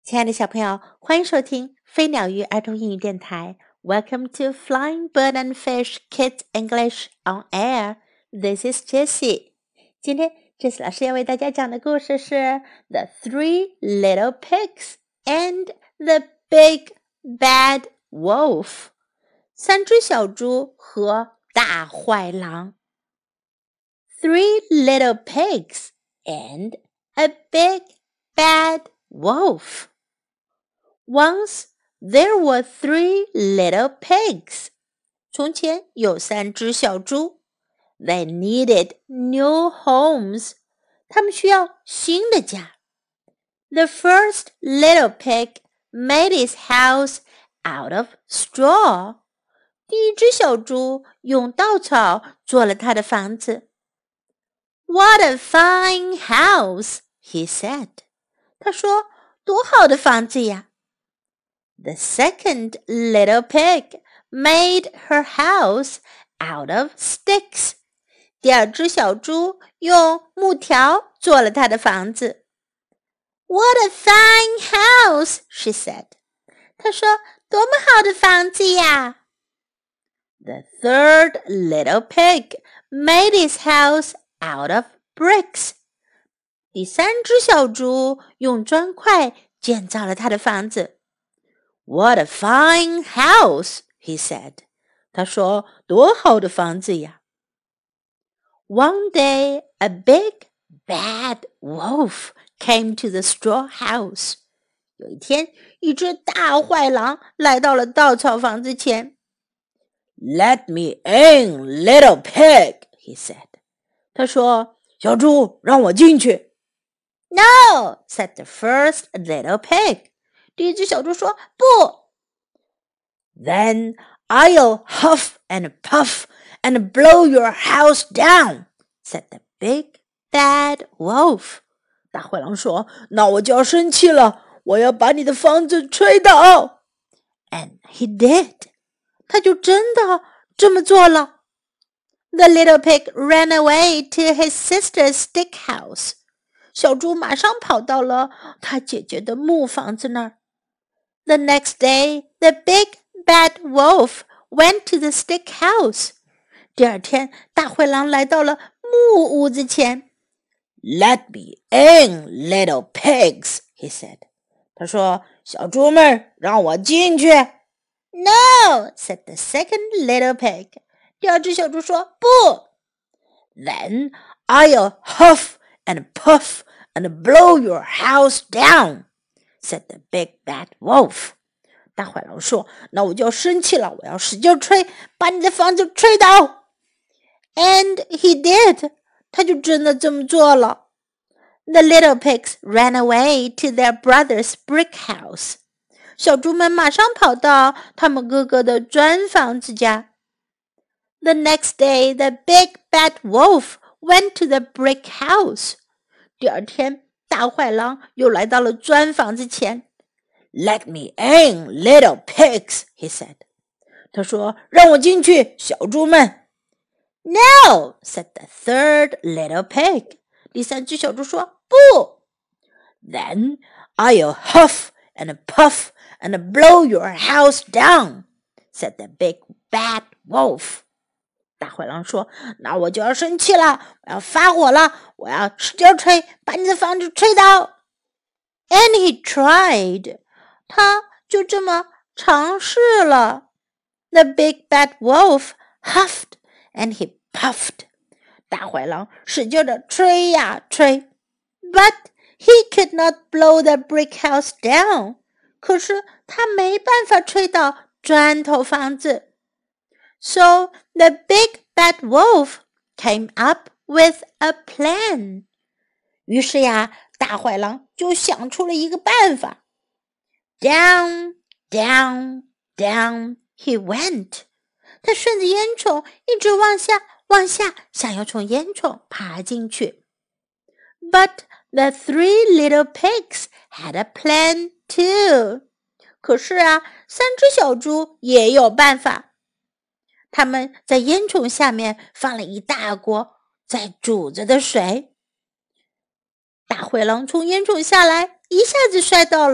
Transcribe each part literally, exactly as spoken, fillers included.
亲爱的小朋友，欢迎收听飞鸟鱼儿童英语电台。Welcome to Flying Bird and Fish Kids English on Air. This is Jessie. 今天 Jessie 老师要为大家讲的故事是 The Three Little Pigs and the Big Bad Wolf. 三只小猪和大坏狼。Three little pigs and a big bad wolf.Once there were three little pigs. 从前有三只小猪。They needed new homes. 他们需要新的家。The first little pig made his house out of straw. 第一只小猪用稻草做了他的房子。What a fine house, he said. 他说，多好的房子呀。The second little pig made her house out of sticks. 第二只小猪用木条做了她的房子。What a fine house, she said. 她说，多么好的房子呀。The third little pig made his house out of bricks. 第三只小猪用砖块建造了他的房子。What a fine house, he said. 他说，多好的房子呀。One day, a big, bad wolf came to the straw house. 有一天，一只大坏狼来到了稻草房子前。Let me in, little pig, he said. 他说，小猪，让我进去。No, said the first little pig. 第一只小猪说，不。Then I'll huff and puff and blow your house down, said the big bad wolf. 大坏狼说，那我就要生气了，我要把你的房子吹倒。And he did. 他就真的这么做了。The little pig ran away to his sister's stick house. 小猪马上跑到了他姐姐的木房子那儿。The next day, the big bad wolf went to the stick house. 第二天，大灰狼来到了木屋子前。Let me in, little pigs, he said. 他说，小猪们，让我进去。No, said the second little pig. 第二只小猪说，不。Then I'll huff and puff and blow your house down, said the big bad wolf. 大坏狼说，那我就要生气了，我要使劲吹，把你的房子吹倒。And he did. 他就真的这么做了。The little pigs ran away to their brother's brick house. 小猪们马上跑到他们哥哥的砖房子家。The next day, the big bad wolf went to the brick house. 第二天，大坏狼又来到了砖房子前。Let me in, little pigs, he said. 他说，让我进去，小猪们。No, said the third little pig. 第三只小猪说，不。Then I'll huff and puff and blow your house down, said the big bad wolf. 大坏狼说，那我就要生气了，我要发火了，我要使劲吹，把你的房子吹倒。And he tried. 他就这么尝试了。The big bad wolf huffed and he puffed. 大坏狼使劲地吹呀吹。But he could not blow the brick house down. 可是他没办法吹倒砖头房子。So the big bad wolf came up with a plan. 于是呀，大坏狼就想出了一个办法。Down, down, down he went. 他顺着烟囱一直往下往下，想要从烟囱爬进去。But the three little pigs had a plan too. 可是啊，三只小猪也有办法。他们在烟囱下面放了一大锅在煮着的水。大灰狼从烟囱下来，一下子摔到了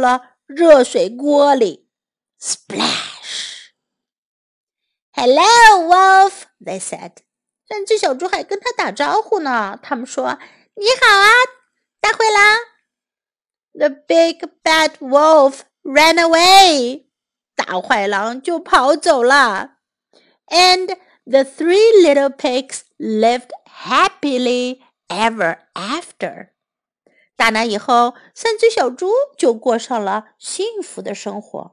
热水锅里。Splash! Hello, Wolf, they said. 三只小猪还跟他打招呼呢。他们说：你好啊，大灰狼。The big bad wolf ran away. 大坏狼就跑走了。And the three little pigs lived happily ever after. 打那以后，三只小猪就过上了幸福的生活。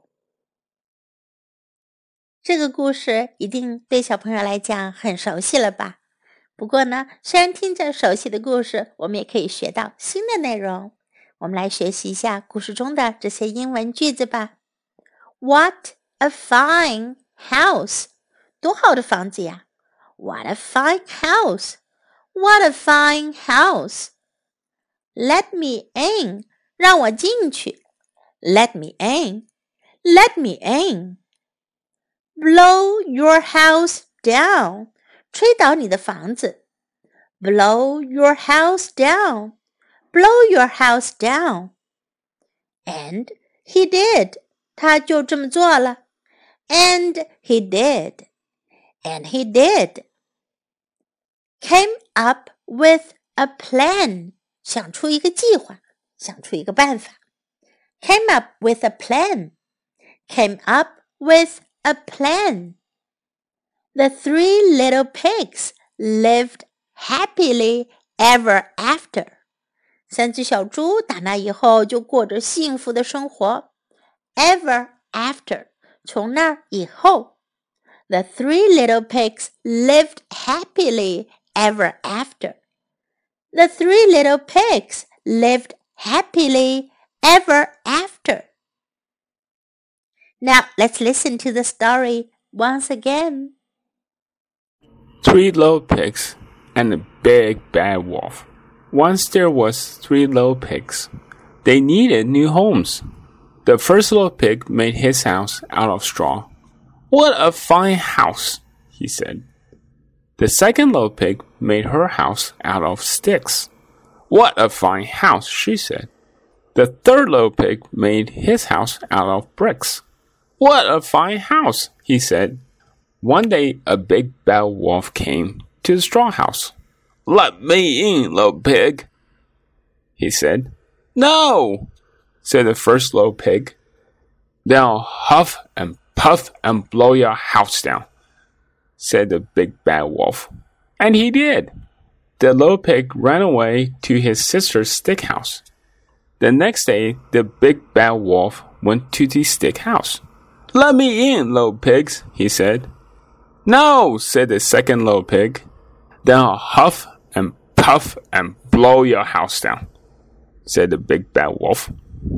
这个故事一定对小朋友来讲很熟悉了吧？不过呢，虽然听着熟悉的故事，我们也可以学到新的内容。我们来学习一下故事中的这些英文句子吧。What a fine house! 多好的房子呀！ What a fine house! What a fine house! Let me in! 让我进去。Let me in! Let me in! Blow your house down! 吹倒你的房子。Blow your house down! Blow your house down! And he did. 他就这么做了。And he did. And he did. Came up with a plan. 想出一个计划，想出一个办法。Came up with a plan. Came up with a plan. The three little pigs lived happily ever after. 三只小猪打那以后就过着幸福的生活。Ever after. 从那儿以后。The three little pigs lived happily ever after. The three little pigs lived happily ever after. Now let's listen to the story once again. Three little pigs and a big bad wolf. Once there was three little pigs. They needed new homes. The first little pig made his house out of straw. What a fine house, he said. The second little pig made her house out of sticks. What a fine house, she said. The third little pig made his house out of bricks. What a fine house, he said. One day a big bad wolf came to the straw house. Let me in, little pig, he said. No, said the first little pig. Then I'll huff and puff and blow your house down, said the big bad wolf. And he did. The little pig ran away to his sister's stick house. The next day, the big bad wolf went to the stick house. Let me in, little pigs, he said. No, said the second little pig. Then I'll huff and puff and blow your house down, said the big bad wolf.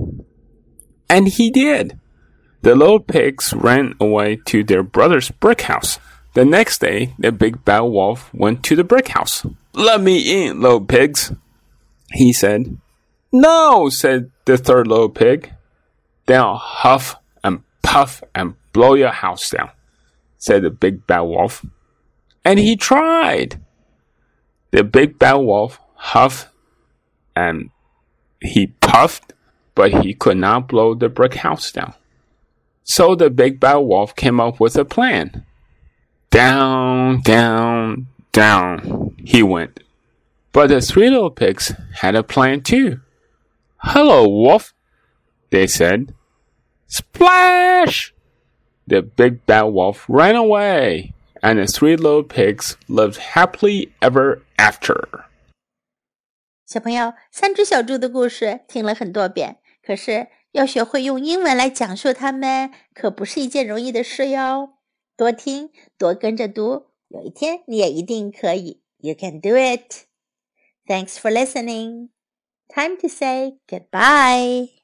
And he did. The little pigs ran away to their brother's brick house. The next day, the big bad wolf went to the brick house. Let me in, little pigs, he said. No, said the third little pig. Then I'll huff and puff and blow your house down, said the big bad wolf. And he tried. The big bad wolf huffed and he puffed, but he could not blow the brick house down. So the big bad wolf came up with a plan. Down, down, down, he went. But the three little pigs had a plan too. Hello, wolf, they said. Splash! The big bad wolf ran away, and the three little pigs lived happily ever after. 小朋友，三只小猪的故事听了很多遍，可是要学会用英文来讲述它们，可不是一件容易的事哟。多听，多跟着读，有一天你也一定可以。You can do it. Thanks for listening. Time to say goodbye.